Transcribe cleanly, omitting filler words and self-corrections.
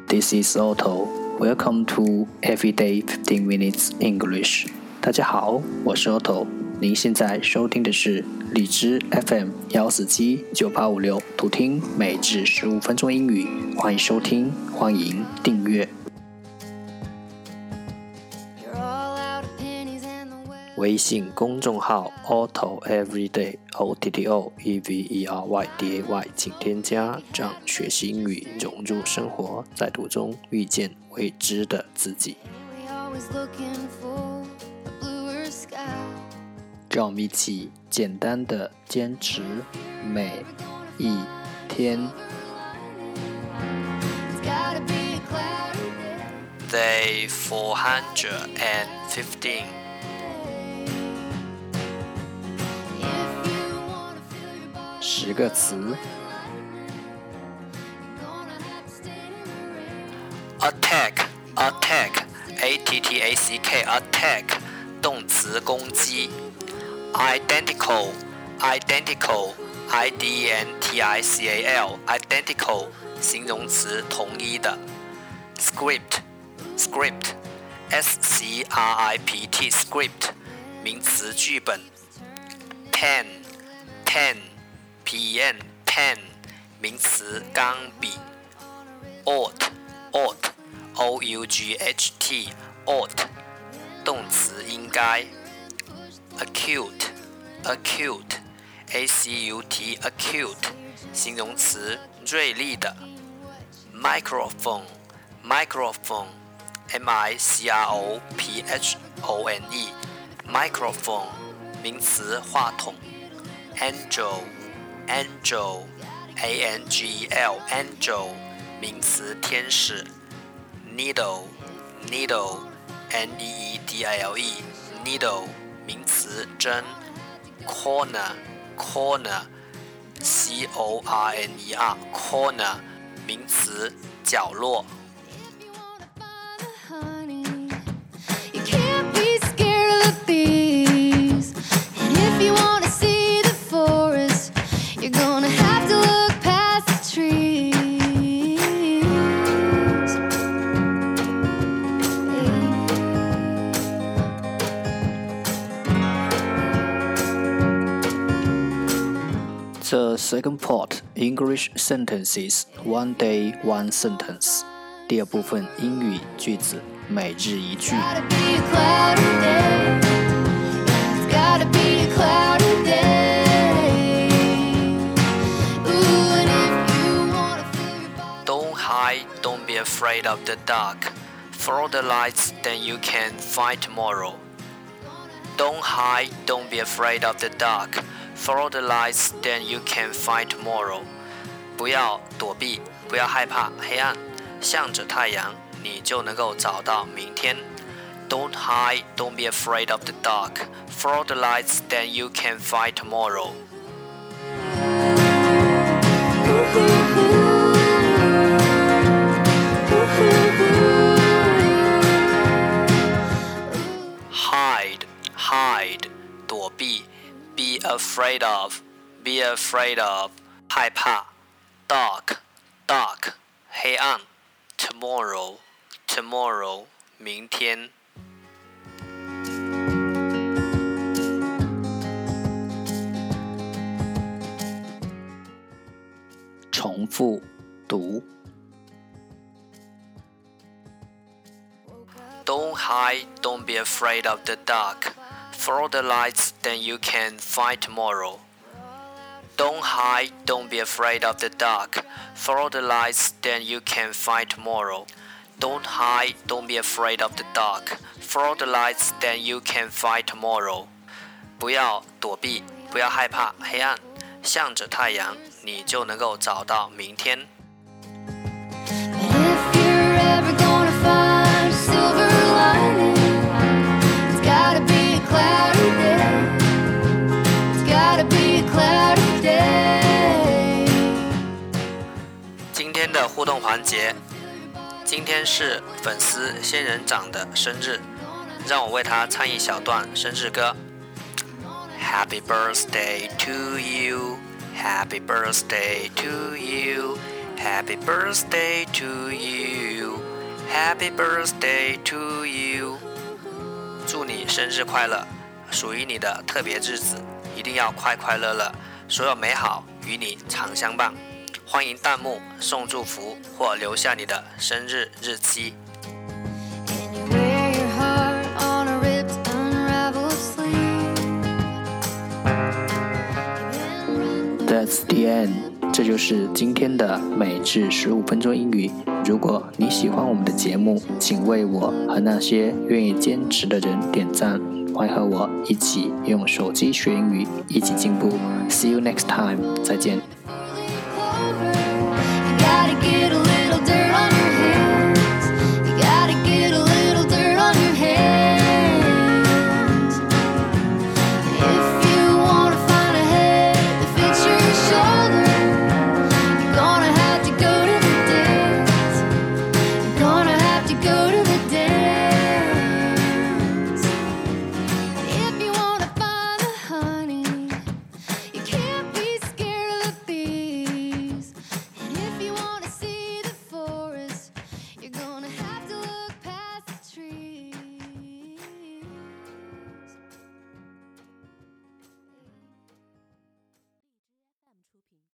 This is Otto. Welcome to Everyday 15 Minutes English. 大家好，我是 Otto。您现在收听的是荔枝 FM 1479856，图听每日15分钟英语。欢迎收听，欢迎订阅。微信公众号 Otto Everyday OTTO EVERYDAY， 请添加，让学习英语融入生活，在途中遇见未知的自己。让我们一起简单的坚持每一天。Day 415。10个词 Attack A-T-T-A-C-K Attack 动词攻击 Identical I-D-E-N-T-I-C-A-L Identical 形容词同一的 Script S-C-R-I-P-T Script 名词剧本 Pen P-E-N Pen 名词钢笔 Ought O-U-G-H-T Ought 动词应该 Acute A-C-U-T Acute 形容词锐利的 Microphone M-I-C-R-O-P-H-O-N-E Microphone 名词话筒 Angel A-N-G-E-L Angel 名词天使 Needle N-E-E-D-I-L-E Needle 名词针 Corner C-O-R-N-E-R Corner 名词角落The second part, English sentences, one day, one sentence. 第二部分英语句子，每日一句。Don't hide, don't be afraid of the dark. Follow the lights, then you can find tomorrow. Don't hide, don't be afraid of the dark.Follow the lights, then you can find tomorrow. 不要躲避，不要害怕黑暗，向着太阳，你就能够找到明天。Don't hide, don't be afraid of the dark. Follow the lights, then you can find tomorrow. Hide, 躲避。Be afraid of,害怕 Dark, 黑暗 Tomorrow, 明天重复读 Don't hide, don't be afraid of the dark.Follow the lights, then you can find tomorrow. Don't hide, don't be afraid of the dark. Follow the lights, then you can find tomorrow. Don't hide, don't be afraid of the dark. Follow the lights, then you can find tomorrow. 不要躲避，不要害怕黑暗，向着太阳，你就能够找到明天。今天的互动环节，今天是粉丝仙人掌的生日，让我为他唱一小段生日歌。Happy birthday to you, Happy birthday to you, Happy birthday to you, Happy birthday to you。祝你生日快乐，属于你的特别日子一定要快快乐乐，所有美好与你常相伴。欢迎弹幕送祝福或留下你的生日日期。That's the end， 这就是今天的每日15分钟英语。如果你喜欢我们的节目，请为我和那些愿意坚持的人点赞。欢迎和我一起用手机学英语，一起进步。See you next time， 再见。